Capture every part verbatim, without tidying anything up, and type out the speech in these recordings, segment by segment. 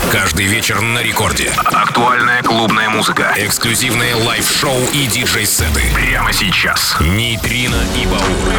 Каждый вечер на рекорде. Актуальная клубная музыка. Эксклюзивные лайв-шоу и диджей-сеты. Прямо сейчас. Нейтрино и Баур.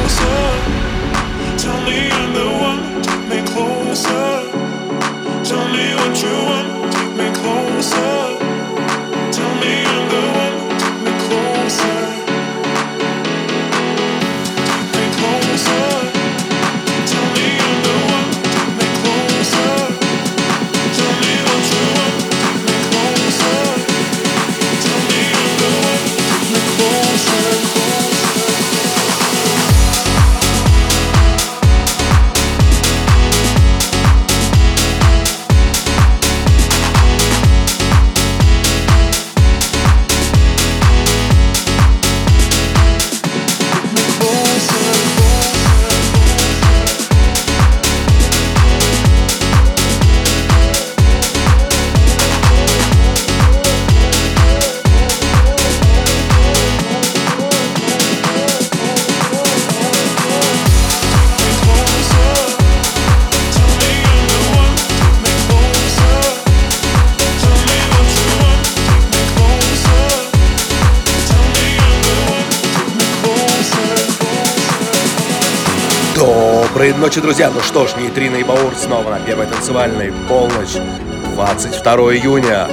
Доброй ночи, друзья! Ну что ж, Нейтрино и Баур снова на первой танцевальной. Полночь, двадцать второго июня.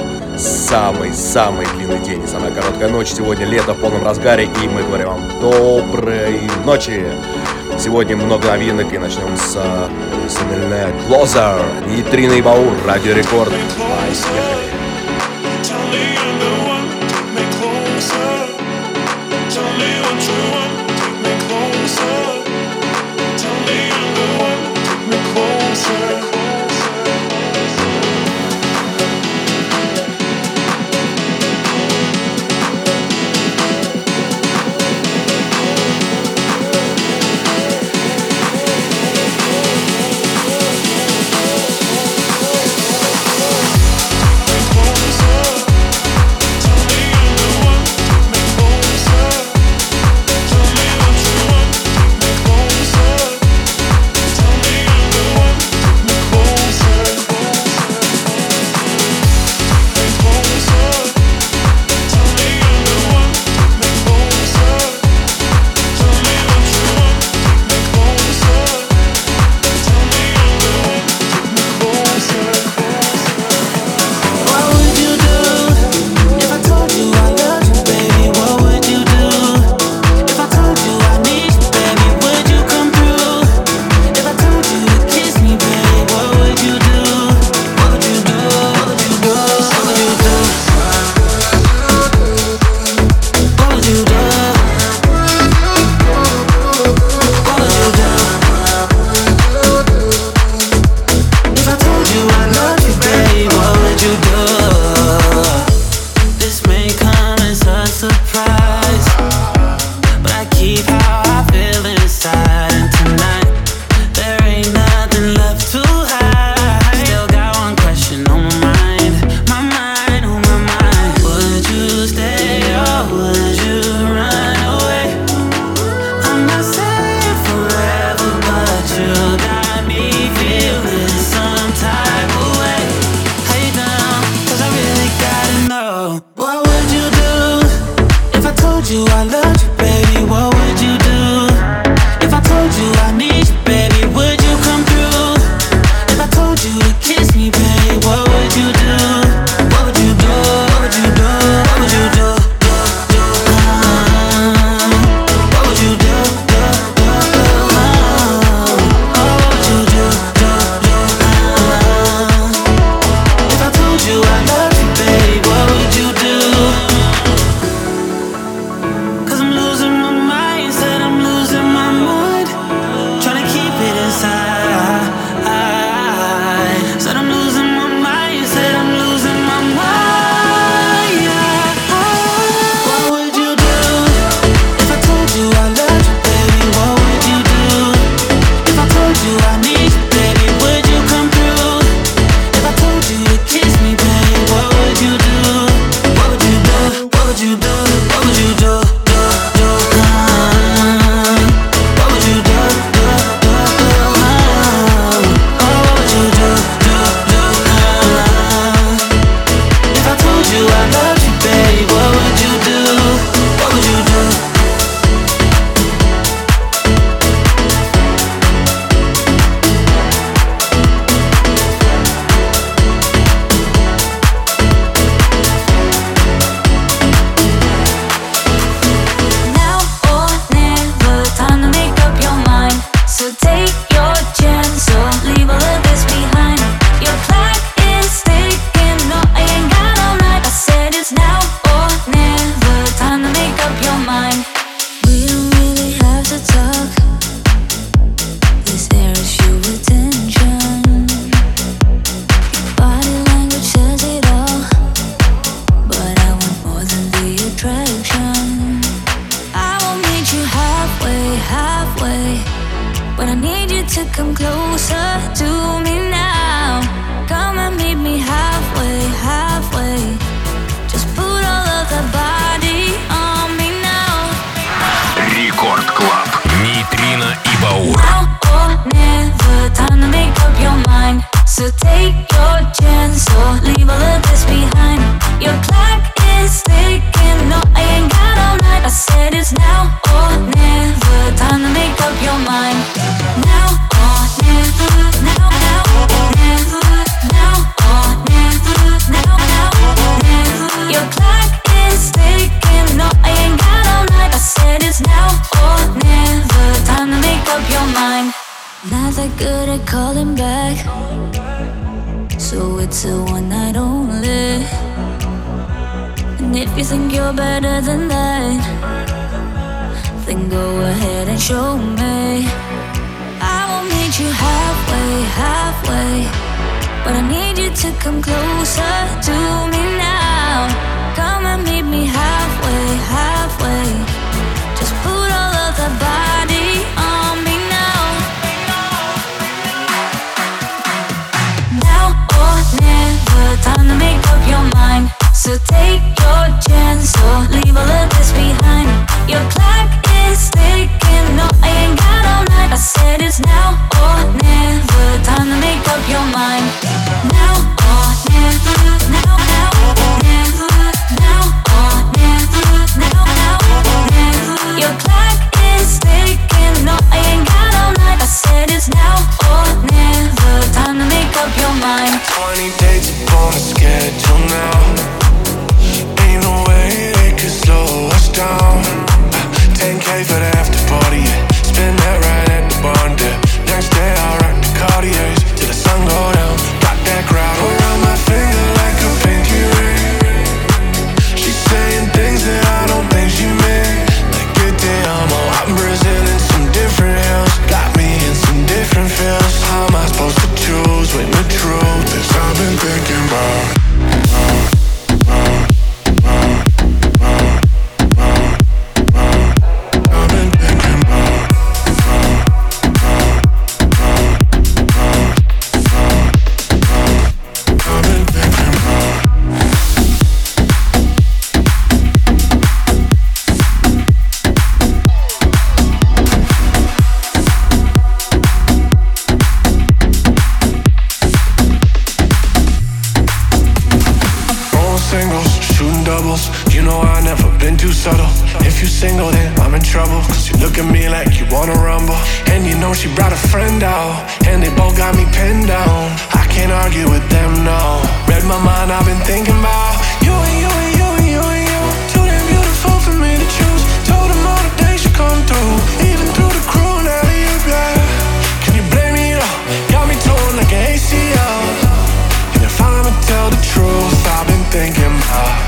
Самый-самый длинный день и самая короткая ночь. Сегодня лето в полном разгаре, и мы говорим вам доброй ночи. Сегодня много новинок, и начнем с Сомельне Closer. Нейтрино и Баур, Радио Рекорд. Поехали! Closer. back. So it's a one night only. And if you think you're better than that, then go ahead and show me. I will meet you halfway, halfway, but I need you to come closer to me now. Come and meet me halfway, halfway. Just put all of the body on me now. Now or never, time to make up your mind. So take your chance or leave all of this behind. Your clock is ticking, no, I ain't got all night. I said it's now or never, time to make up your mind. Now or never, now, now, never. Now or never, now, now, never. Your clock is ticking, no, I ain't got all night. I said it's now or never, time to make up your mind. Twenty dates on the schedule now. Ain't no way they could slow us down. ten K for the after party, yeah. Spend that right at the barn, yeah. Next day I'll rock the Cartiers till the sun go down. Got that crowd around my finger like a pinky ring. She's saying things that I don't think she meant. Like good day, I'm all out in Brazil in some different hills. Got me in some different feels. How am I supposed to choose when the truth is I've been thinking about single, then I'm in trouble. Cause you look at me like you wanna rumble. And you know she brought a friend out, and they both got me pinned down. I can't argue with them, no. Read my mind, I've been thinking about you and you and you and you and you. Too damn beautiful for me to choose. Told them all the days you come through. Even through the crew, now you yeah. Can you blame me though? Got me torn like an A C L. And if I'ma tell the truth, I've been thinking about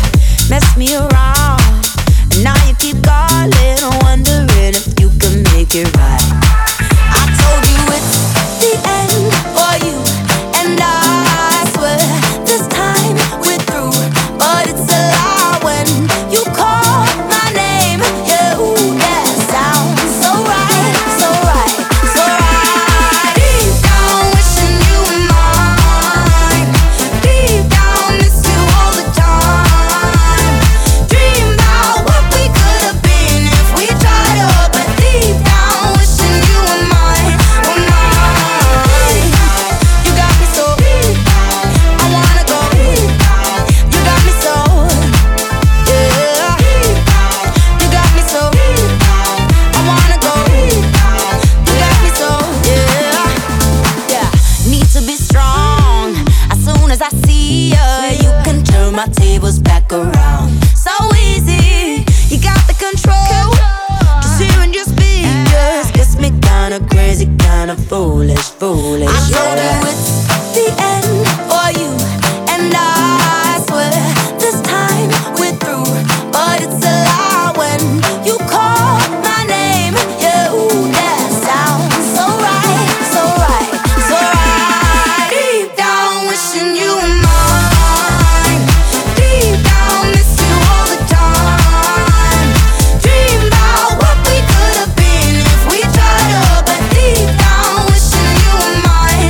me around, and now you keep calling, wondering if you can make make it right. I told you it's the end for you and I swear this time we're through, but it's a lie when you call my name. Yeah, ooh, that sounds so right, so right, so right. Deep down wishing you were mine. Deep down miss you all the time. Dream about what we could have been if we tried up, but deep down wishing you were mine, were mine. You got me so I wanna go. You got me so, yeah. You got me so I wanna go. You got me so, yeah. Yeah. Need to be strong. As soon as I see ya, you can turn my tables back around. So easy, you got the control. Just hearing your speakers gets me kinda crazy, kinda foolish, foolish. I told you it's the end for you and I swear this time we're through, but it's a lie when you call my name. Yeah, ooh, that sounds so right, so right, so right. Deep down wishing you were mine. Deep down miss you all the time. Dream about what we could have been if we tried up, but deep down wishing you were mine,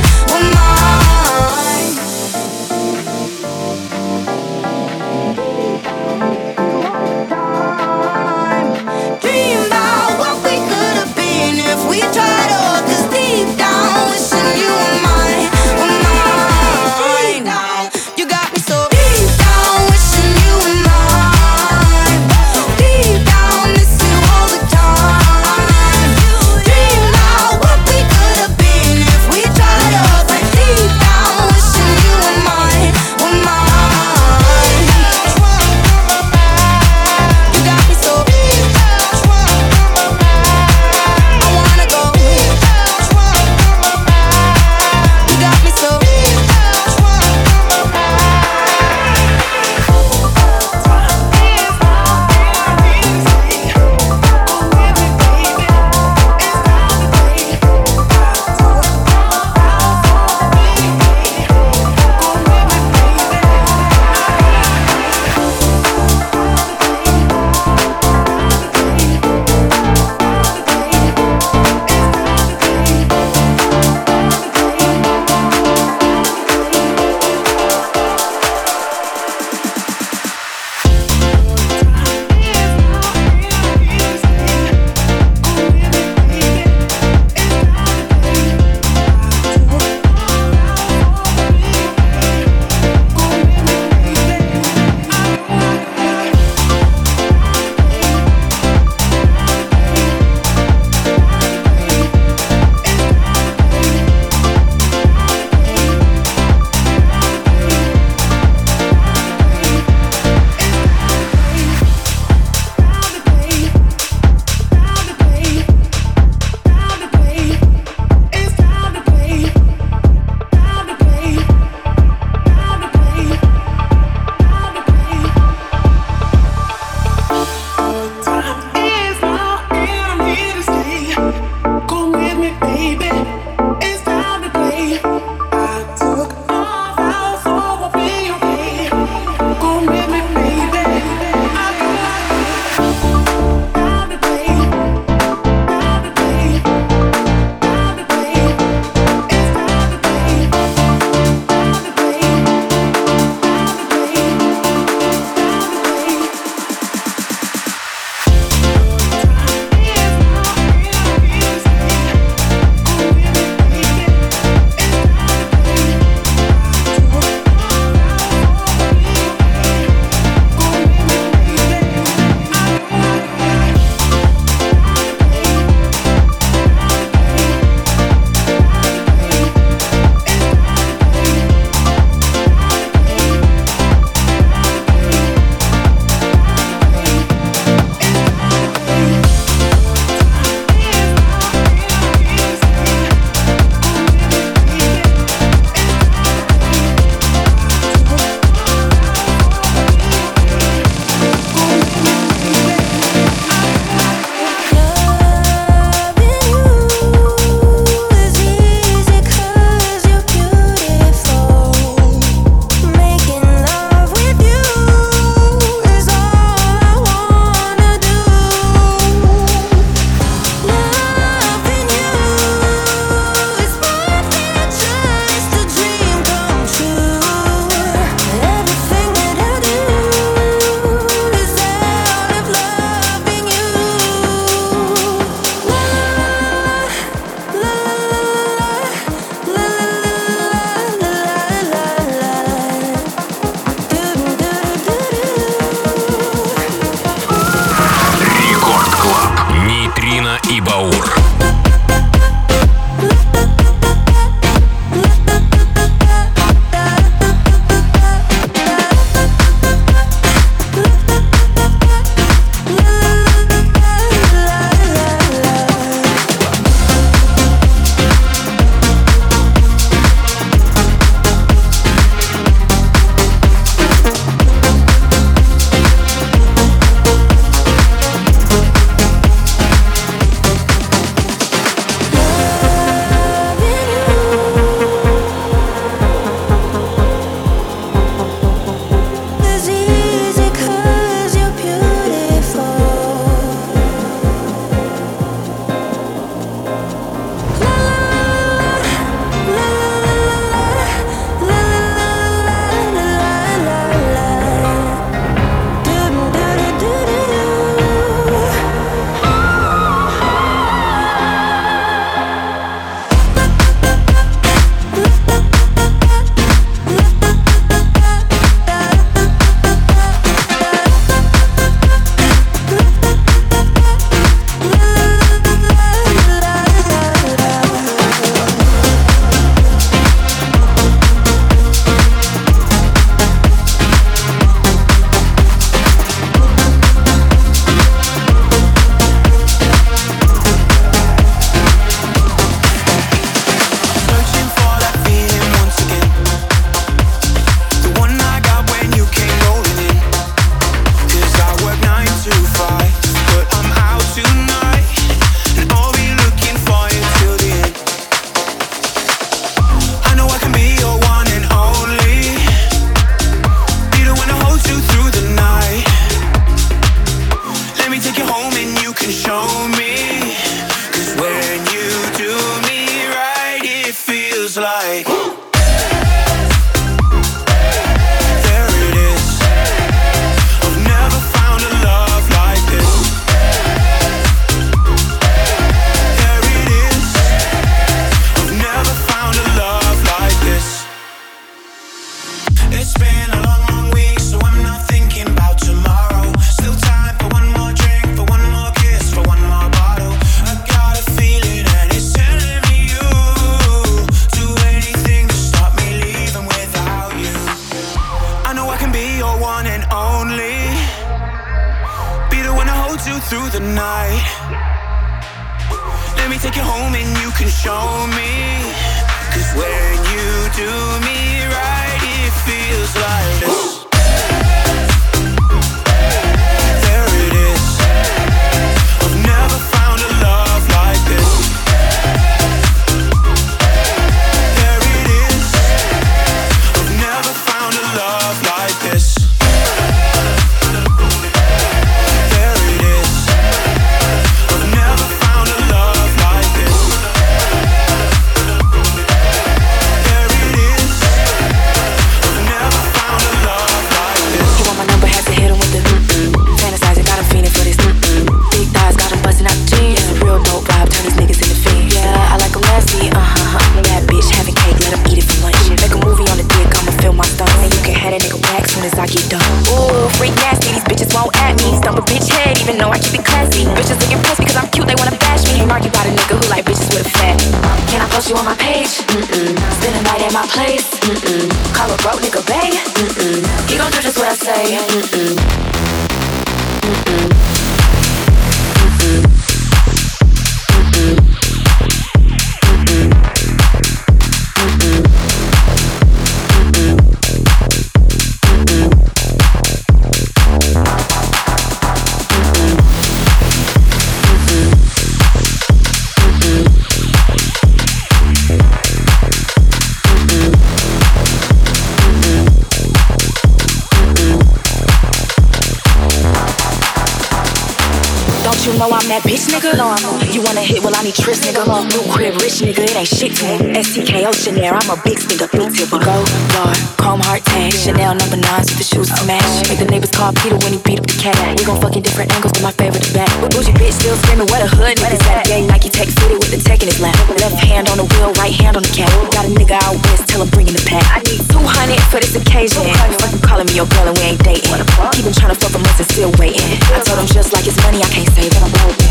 That bitch nigga, you wanna hit? Well I need tris nigga. New crib, rich nigga, it ain't shit to him. S T K O Chanel, I'm a big sticker, big tipper. Go bar, comb heart tag, Chanel number nines with the shoes to match. Make the neighbors call Peter when he beat up the cat. We gon' fuck in different angles, but my favorite the back. Bougie bitch still screaming, what a hood niggas at? Yeah, Nike Tech fitted with the tech in his lap. Left hand on the wheel, right hand on the cap. Got a nigga out west, tell him bring in the pack. I need two hundred for this occasion. Fucking calling me your girl and we ain't dating. Keep him tryna fuck for months and still waiting. I told him just like it's money, I can't save it.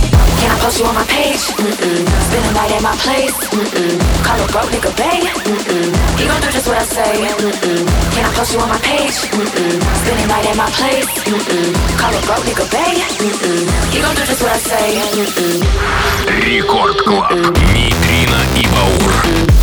Can I post you on my page? Mm-mm. Spending night at my place? Mm-mm. Call a broke nigga bae? Mm-mm. He gon' do just what I say. Mm-mm. Can I post you on my page? Mm-mm. Spending night at my place? Mm-mm. Call a broke nigga bae? Mm-mm. He gon' do just what I say. Mm-mm. Рекорд Клаб. Нейтрино и Баур.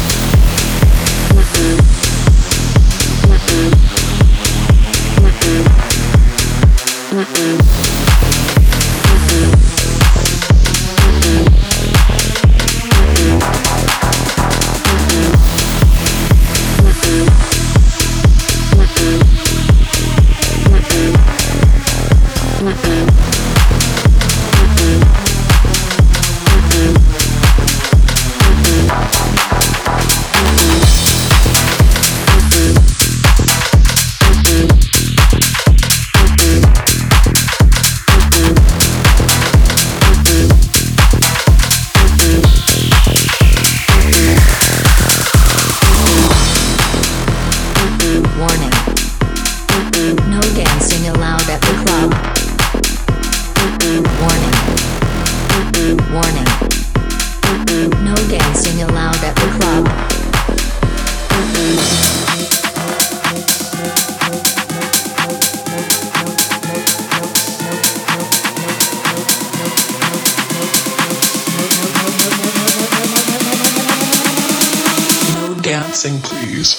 Dancing, please.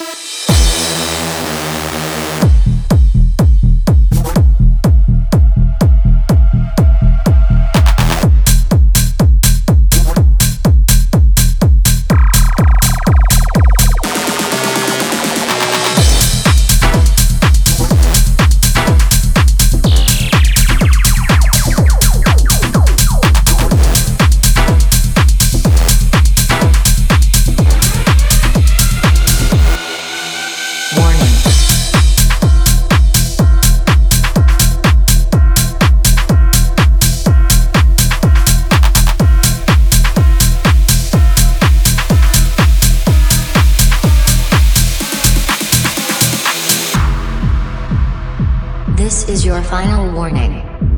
This is your final warning.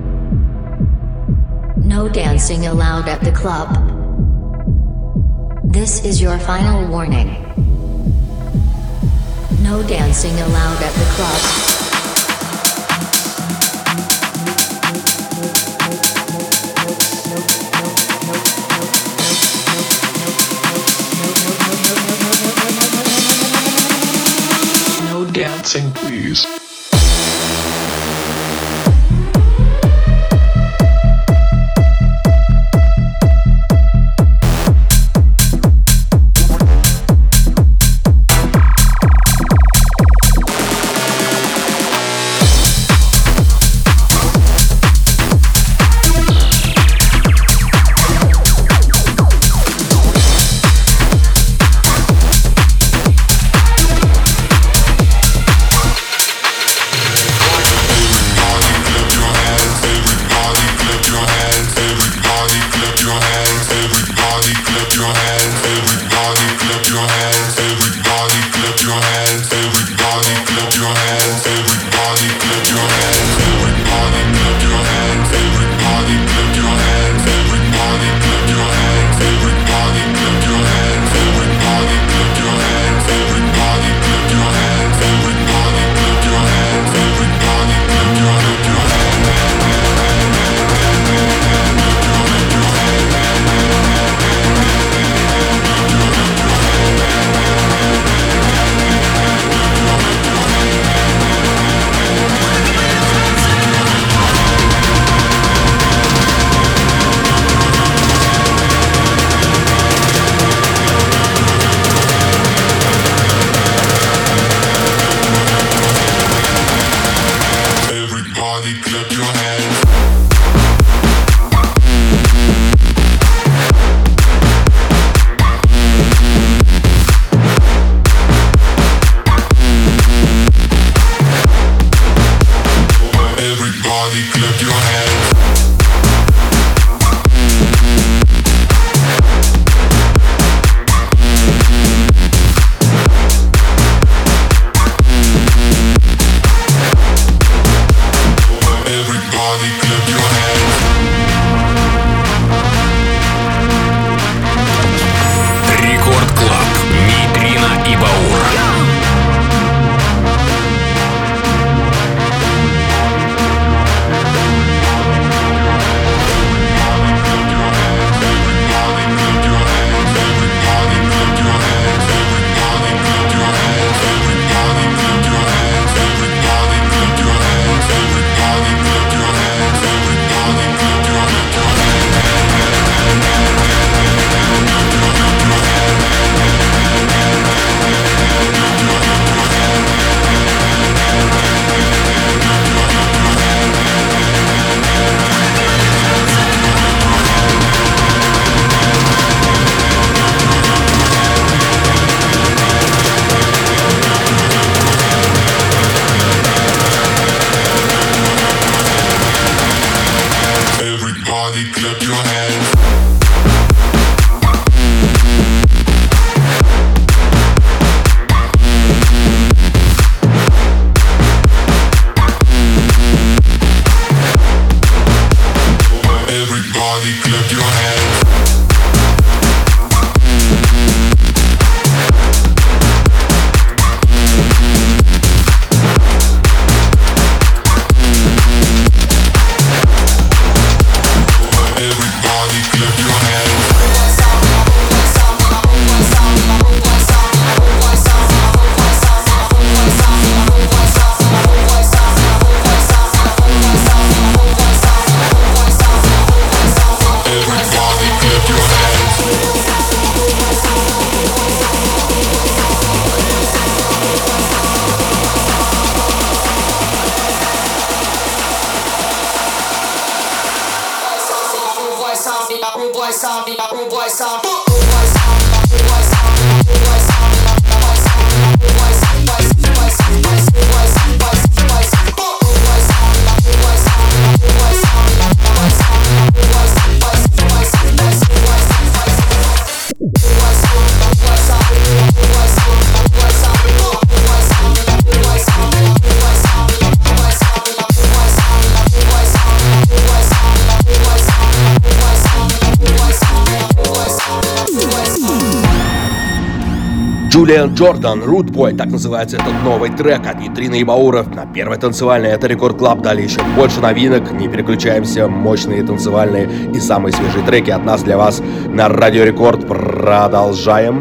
No dancing allowed at the club. This is your final warning. No dancing allowed at the club. No dancing, please. Джулиан Джордан, Root Boy, так называется этот новый трек от Нитрины и Бауров на первой танцевальной. Это Рекорд Клаб, далее еще больше новинок, не переключаемся, мощные танцевальные и самые свежие треки от нас для вас на Радио Рекорд. Продолжаем.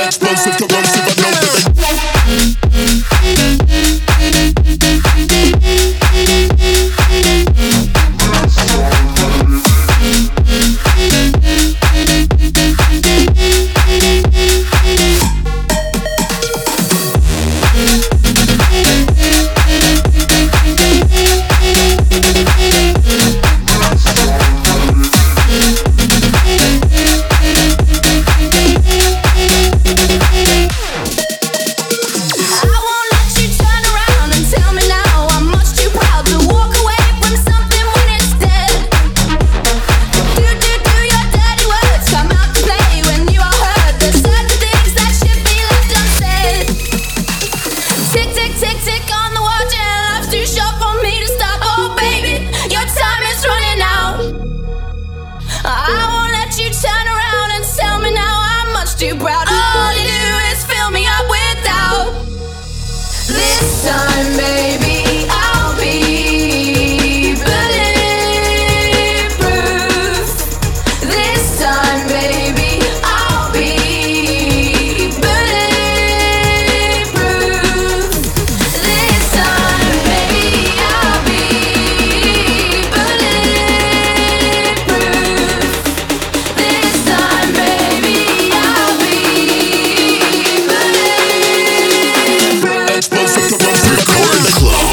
explosive, corrosive, I know that Record the club.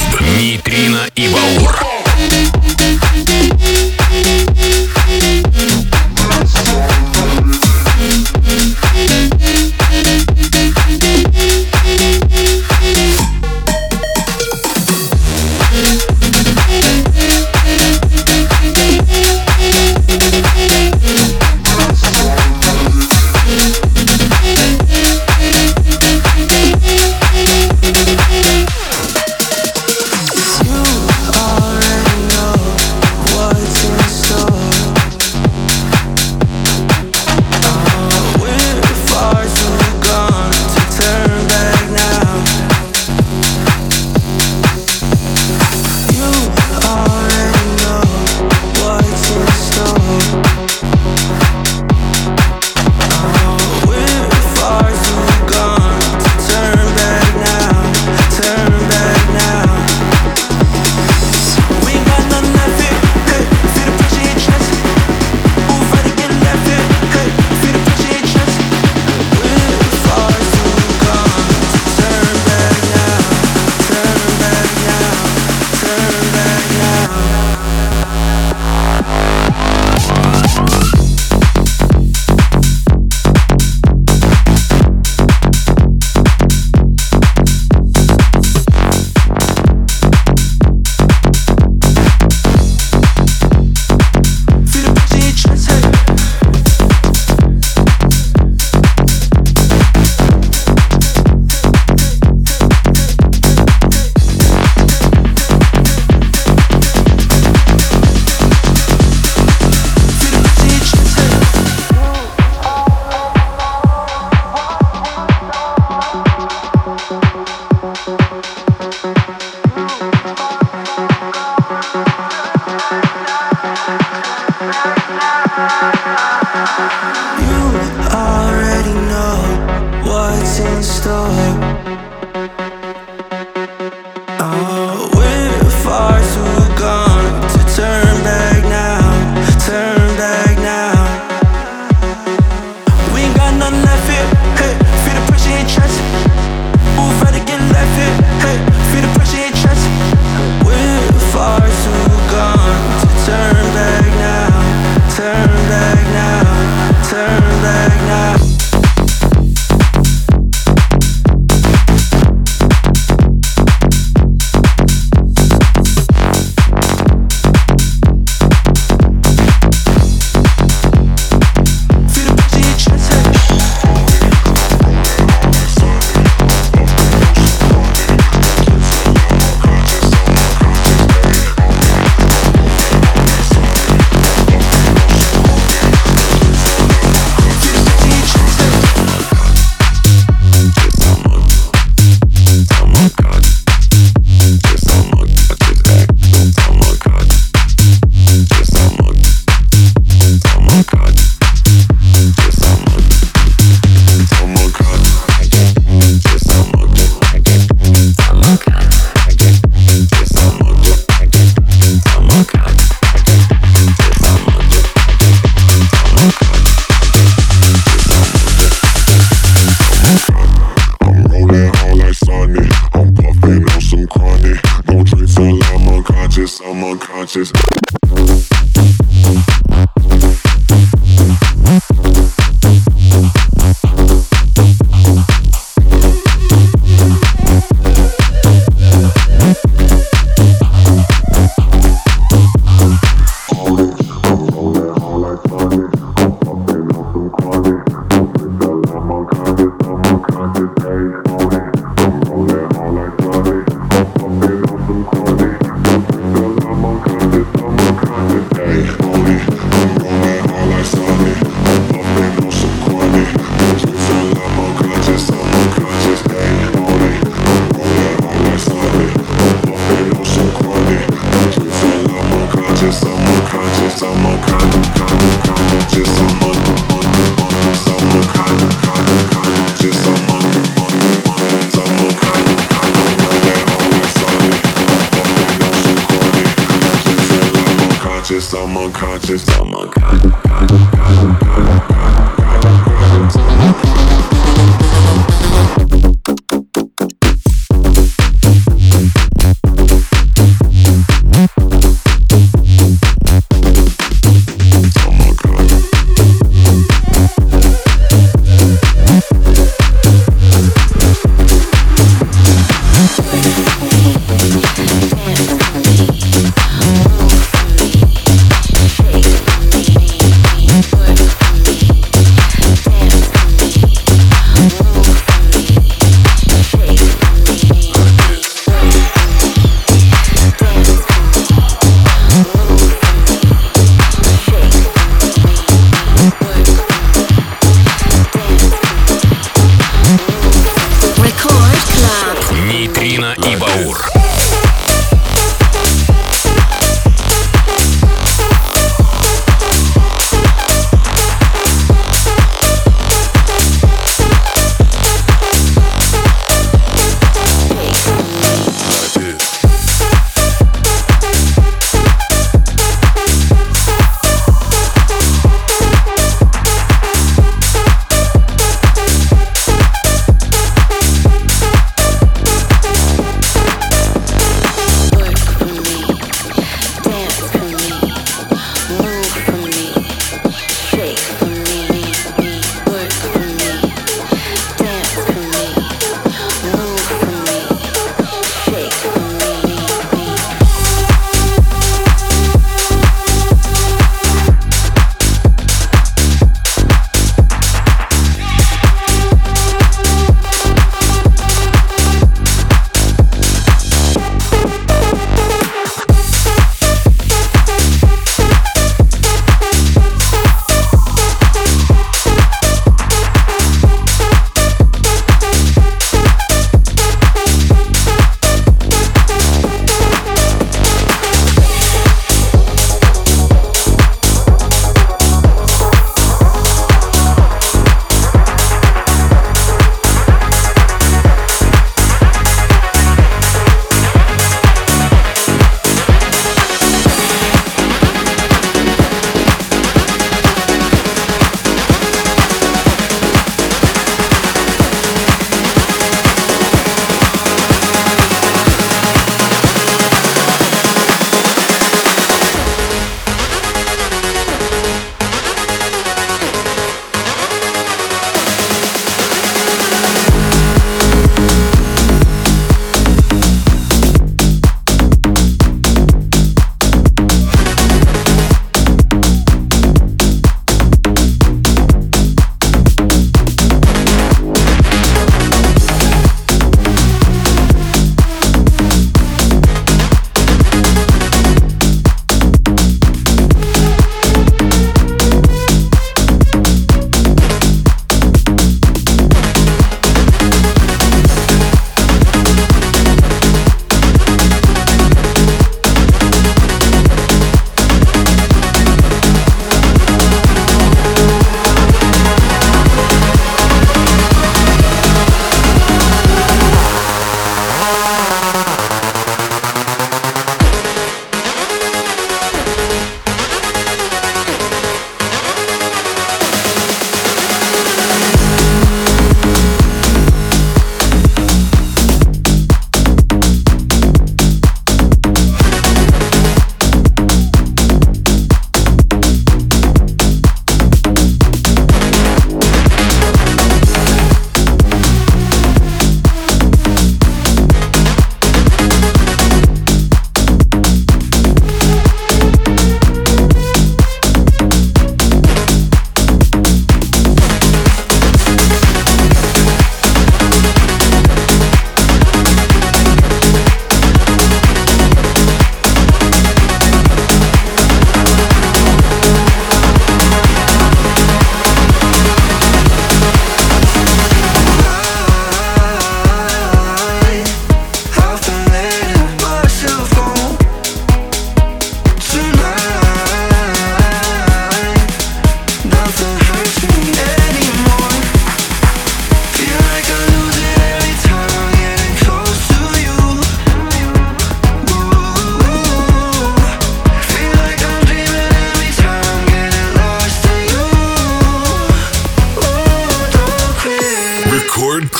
subconscious. I'm unconscious, I'm unconscious, Take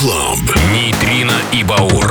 Club. Нейтрино и Баур.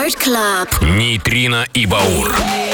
Record Club. Нейтрино и Баур.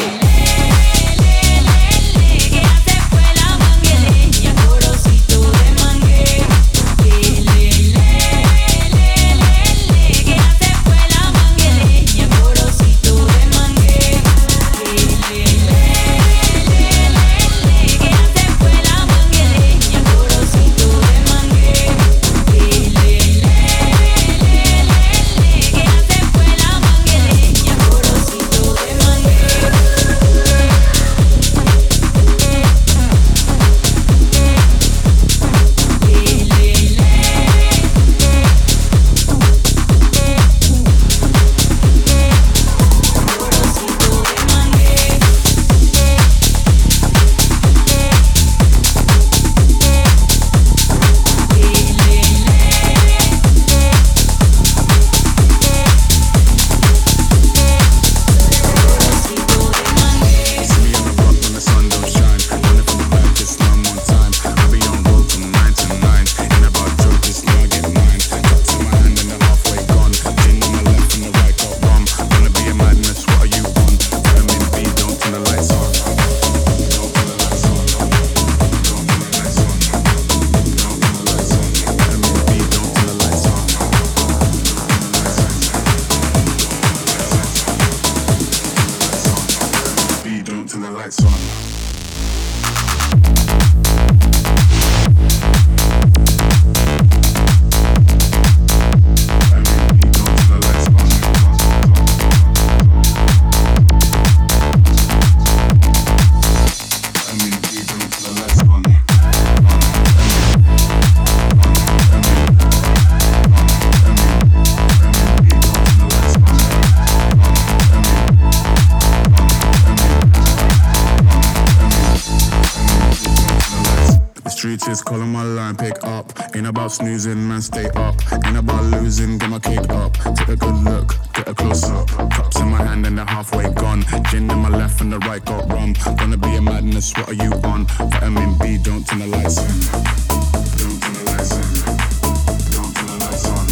Calling my line, pick up. Ain't about snoozing, man, stay up. Ain't about losing, get my cake up. Take a good look, get a close up. Cups in my hand and they're halfway gone. Gin in my left and the right got rum. Gonna be a madness, what are you on? Vitamin B, don't turn the lights on. Don't turn the lights on. Don't turn the lights on.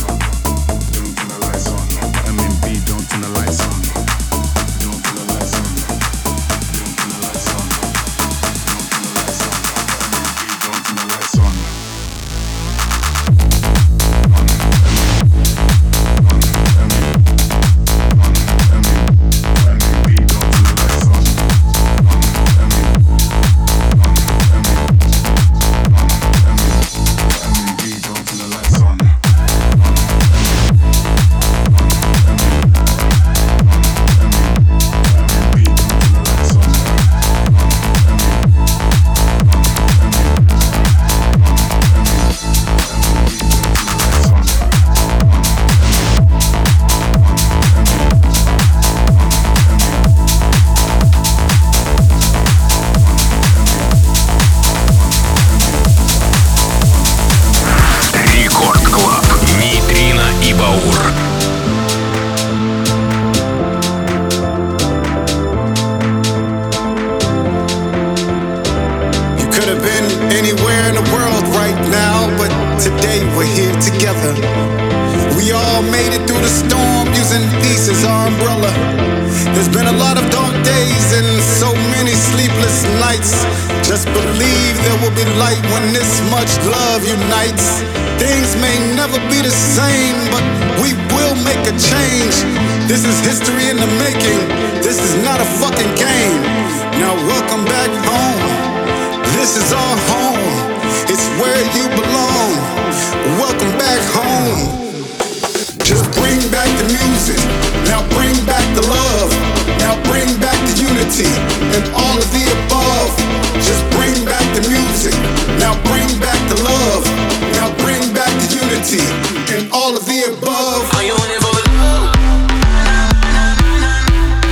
Don't turn the lights on. Vitamin B, don't turn the lights on. Don't turn the lights on. Don't turn the lights on.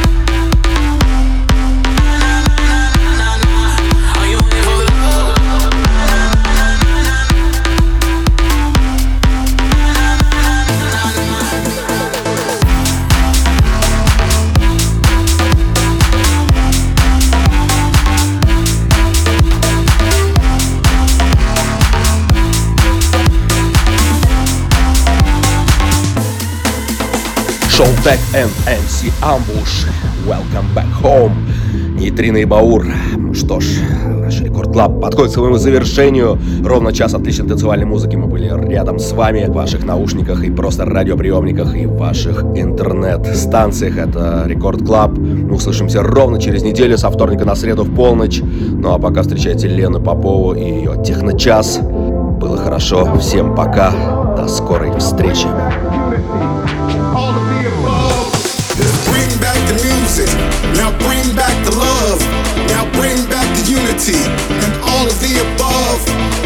Are you in it for the love? Шоу Tech and эм си Ambush. Welcome back home. Нейтрино и Баур. Ну что ж, наш Рекорд Клаб подходит к своему завершению. Ровно час отличной танцевальной музыки. Мы были рядом с вами в ваших наушниках и просто радиоприемниках и в ваших интернет-станциях. Это Рекорд Клаб. Мы услышимся ровно через неделю, со вторника на среду в полночь. Ну а пока встречайте Лену Попову и ее Техночас. Было хорошо. Всем пока. До скорой встречи. Bring back the music, now bring back the love, now bring back the unity, and all of the above.